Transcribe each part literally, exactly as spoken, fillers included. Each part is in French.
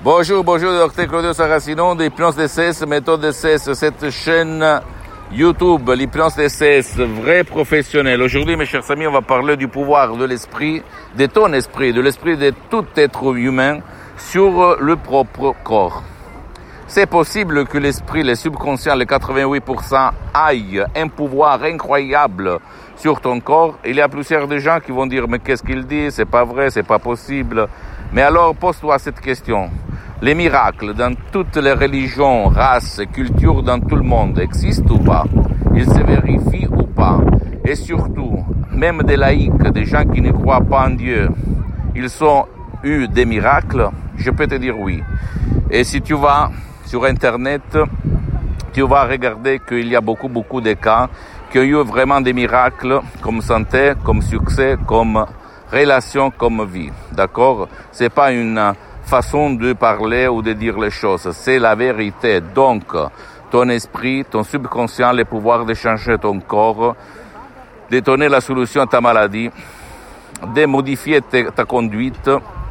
Bonjour, bonjour, docteur Claudio Saracino de l'hypnose D C S, méthode D C S, cette chaîne YouTube, l'hypnose D C S, vrai professionnel. Aujourd'hui, mes chers amis, on va parler du pouvoir de l'esprit, de ton esprit, de l'esprit de tout être humain sur le propre corps. C'est possible que l'esprit, le subconscient, les quatre-vingt-huit pour cent, aille un pouvoir incroyable sur ton corps. Il y a plusieurs de gens qui vont dire, mais qu'est-ce qu'il dit? C'est pas vrai, c'est pas possible. Mais alors, pose-toi cette question. Les miracles dans toutes les religions, races, cultures dans tout le monde existent ou pas? Ils se vérifient ou pas? Et surtout, même des laïcs, des gens qui ne croient pas en Dieu, ils ont eu des miracles? Je peux te dire oui. Et si tu vas sur Internet, tu vas regarder qu'il y a beaucoup, beaucoup de cas qui ont eu vraiment des miracles comme santé, comme succès, comme relation, comme vie. D'accord? C'est pas une façon de parler ou de dire les choses. C'est la vérité. Donc, ton esprit, ton subconscient, le pouvoir de changer ton corps, de donner la solution à ta maladie, de modifier te, ta conduite,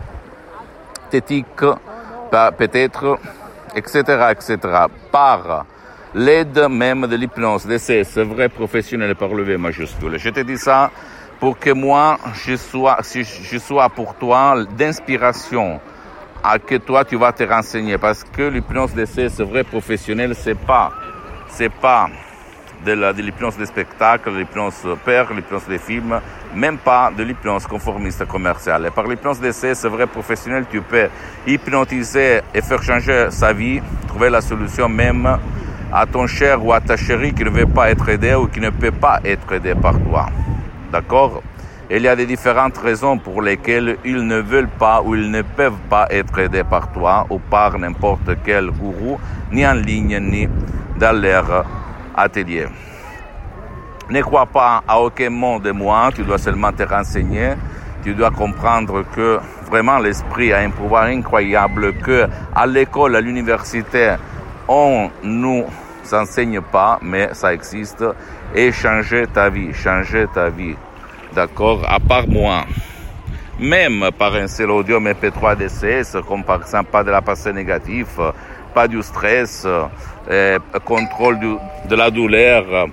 tes tics, peut-être, et cetera, et cetera, par l'aide même de l'hypnose D C S, vrai professionnel par le V majuscule. Je te dis ça pour que moi, je sois, si je sois pour toi d'inspiration, à que toi tu vas te renseigner, parce que l'hypnose D C S vrai professionnel, c'est pas, c'est pas de, la, de l'hypnose de spectacle, de l'hypnose père, l'hypnose des films, même pas de l'hypnose conformiste commerciale. Et par l'hypnose D C S vrai professionnel, tu peux hypnotiser et faire changer sa vie, trouver la solution même à ton cher ou à ta chérie qui ne veut pas être aidé ou qui ne peut pas être aidé par toi. D'accord? Il y a des différentes raisons pour lesquelles ils ne veulent pas ou ils ne peuvent pas être aidés par toi ou par n'importe quel gourou, ni en ligne, ni dans leur atelier. Ne crois pas à aucun mot de moi, tu dois seulement te renseigner, tu dois comprendre que vraiment l'esprit a un pouvoir incroyable, que à l'école, à l'université, on nous enseigne pas, mais ça existe, et changer ta vie, changer ta vie. D'accord, à part moi, même par un seul audio M P trois D C S, comme par exemple pas de la pensée négative, pas du stress, euh, contrôle du, de la douleur,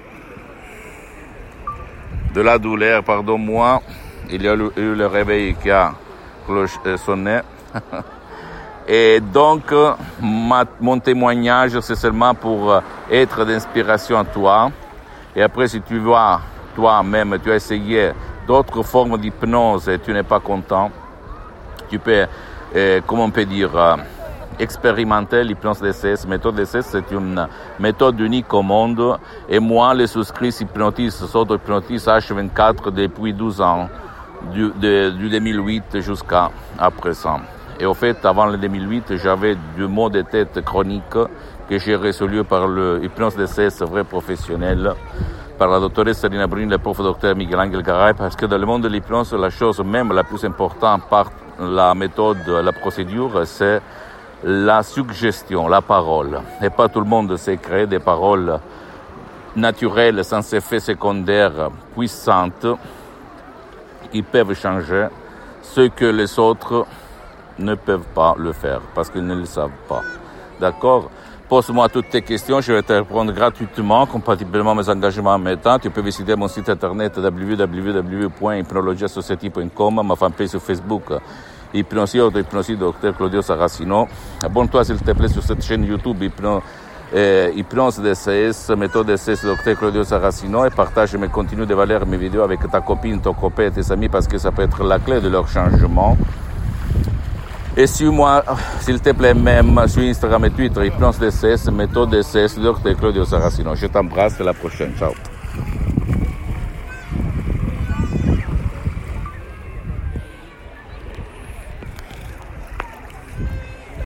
de la douleur, pardon-moi, il y a eu le réveil qui a cloche, euh, sonné. Et donc, ma, mon témoignage, c'est seulement pour être d'inspiration à toi. Et après, si tu vois toi-même, tu as essayé d'autres formes d'hypnose et tu n'es pas content, tu peux, euh, comment on peut dire, euh, expérimenter l'hypnose D C S. Méthode D C S, c'est une méthode unique au monde. Et moi, les souscrits hypnotistes, s'auto-hypnotisent H vingt-quatre depuis douze ans, du, de, du deux mille huit jusqu'à à présent. Et au fait, avant le deux mille huit, j'avais du maux de tête chronique que j'ai résolu par le hypnose D C S vrai professionnel, par la doctoresse Rina Bruni, le prof docteur Miguel Angel Garay, parce que dans le monde de l'hypnose, la chose même la plus importante par la méthode, la procédure, c'est la suggestion, la parole. Et pas tout le monde sait créer des paroles naturelles, sans effet secondaire, puissantes, qui peuvent changer ce que les autres ne peuvent pas le faire, parce qu'ils ne le savent pas. D'accord? Pose-moi toutes tes questions, je vais te répondre gratuitement, compatiblement à mes engagements en même temps. Tu peux visiter mon site internet w w w point hypnologia society point com, ma fanpage sur Facebook, Hypnosie, auto-hypnosie, docteur Claudio Saracino. Abonne-toi s'il te plaît sur cette chaîne YouTube, Hypno, euh, Hypnose D C S, méthode D C S, docteur Claudio Saracino, et partage mes contenus de valeur, mes vidéos avec ta copine, ton copain et tes amis, parce que ça peut être la clé de leur changement. Et suis-moi, s'il te plaît, même sur Instagram et Twitter, Hypnose D C S, méthode D C S, docteur Claudio Saracino. Je t'embrasse, à la prochaine. Ciao.